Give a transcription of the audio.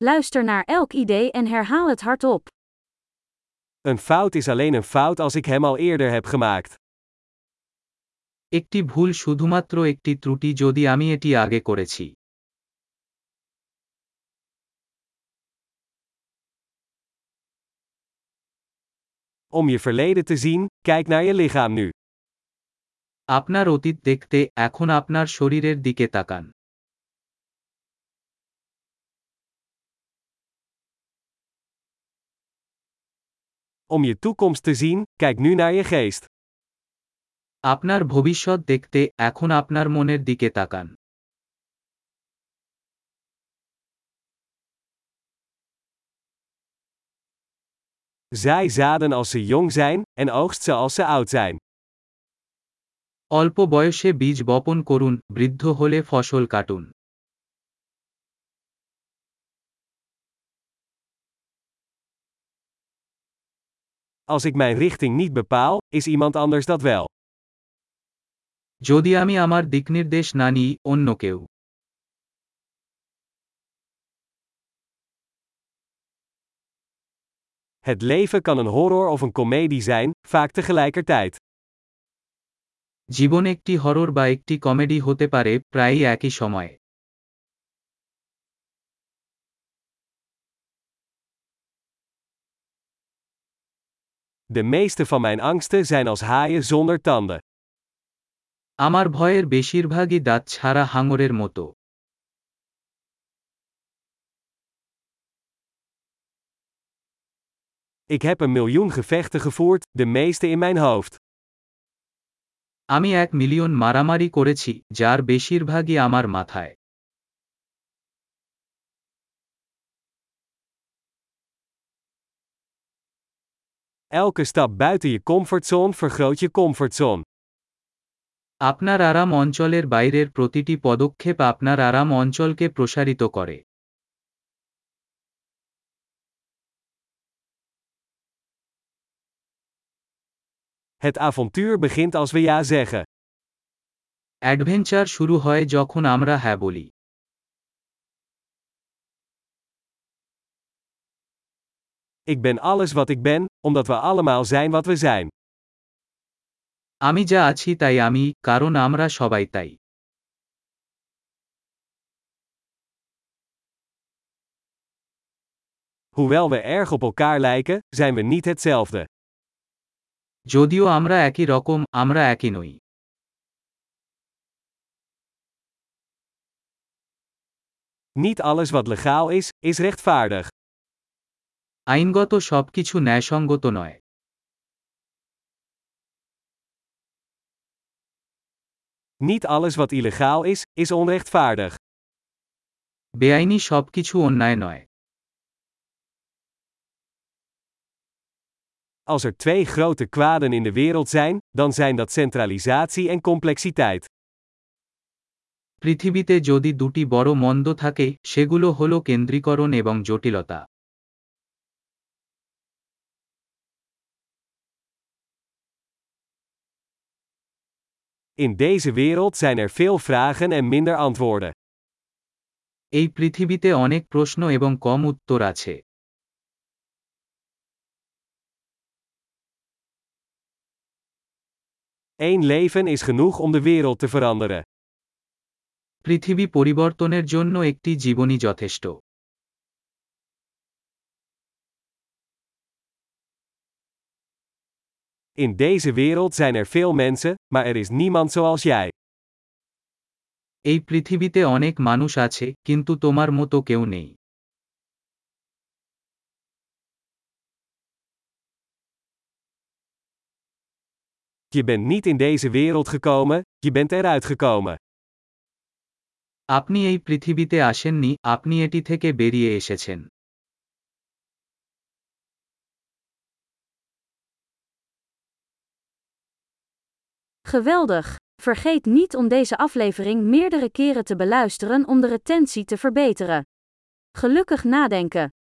Luister naar elk idee en herhaal het hardop. Een fout is alleen een fout als ik hem al eerder heb gemaakt. একটি ভুল শুধুমাত্র একটি ত্রুটি যদি আমি এটি আগে করেছি। Om je verleden te zien, kijk naar je lichaam nu. আপনার অতীত দেখতে এখন আপনার শরীরের দিকে তাকান। Om je toekomst te zien, kijk nu naar je geest. আপনার ভবিষ্যৎ দেখতে এখন আপনার মনের দিকে তাকান। Zaai zaden als ze jong zijn, en oogst ze als ze oud zijn. অল্প বয়সে বীজ বপন করুন, বৃদ্ধ হলে ফসল কাটুন। Als ik mijn richting niet bepaal, is iemand anders dat wel. যদি আমি আমার দিকনির্দেশ না নিই, অন্য কেউ। Het leven kan een horror of een komedie zijn, vaak tegelijkertijd. জীবন একটি হরর বা একটি কমেডি হতে পারে, প্রায়ই একই সময়ে। De meeste van mijn angsten zijn als haaien zonder tanden. আমার ভয়ের বেশিরভাগই দাঁত ছাড়া হাঙরের মতো। Ik heb 1.000.000 gevechten gevoerd, de meeste in mijn hoofd. আমি 1,000,000 মারামারি করেছি, যার বেশিরভাগই আমার মাথায়। Elke stap buiten je comfortzone vergroot je comfortzone. আপনার আরাম অঞ্চলের বাইরের প্রতিটি পদক্ষেপ আপনার আরাম অঞ্চলকে প্রসারিত করে। Het avontuur begint als we ja zeggen. Adventure শুরু হয় যখন আমরা হ্যাঁ বলি। Ik ben alles wat ik ben, omdat we allemaal zijn wat we zijn. আমি যা আছি তাই আমি, কারণ আমরা সবাই তাই। Hoewel we erg op elkaar lijken, zijn we niet hetzelfde. যদিও আমরা একই রকম, আমরা একই নই। Niet alles wat legaal is, is rechtvaardig. আইনগত সবকিছু ন্যায়সঙ্গত নয়। Niet alles wat illegaal is, is onrechtvaardig. বেআইনি সবকিছু অন্যায় নয়। Als er twee grote kwaden in de wereld zijn, dan zijn dat centralisatie en complexiteit. পৃথিবীতে যদি দুটি বড় মন্দ থাকে, সেগুলো হলো কেন্দ্রীকরণ এবং জটিলতা। In deze wereld zijn er veel vragen en minder antwoorden. এই পৃথিবীতে অনেক প্রশ্ন এবং কম উত্তর আছে। Eén leven is genoeg om de wereld te veranderen. পৃথিবী পরিবর্তনের জন্য একটি জীবনই যথেষ্ট। In deze wereld zijn er veel mensen, maar er is niemand zoals jij. এই পৃথিবীতে অনেক মানুষ আছে, কিন্তু তোমার মতো কেউ নেই। Je bent niet in deze wereld gekomen, je bent eruit gekomen. আপনি এই পৃথিবীতে আসেননি, আপনি এটি থেকে বেরিয়ে এসেছেন। Geweldig! Vergeet niet om deze aflevering meerdere keren te beluisteren om de retentie te verbeteren. Gelukkig nadenken!